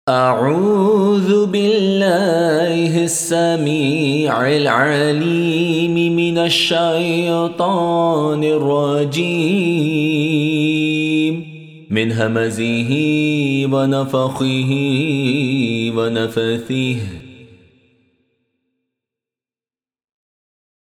أعوذ بالله السميع العليم من الشيطان الرجيم من همزه ونفخه ونفثه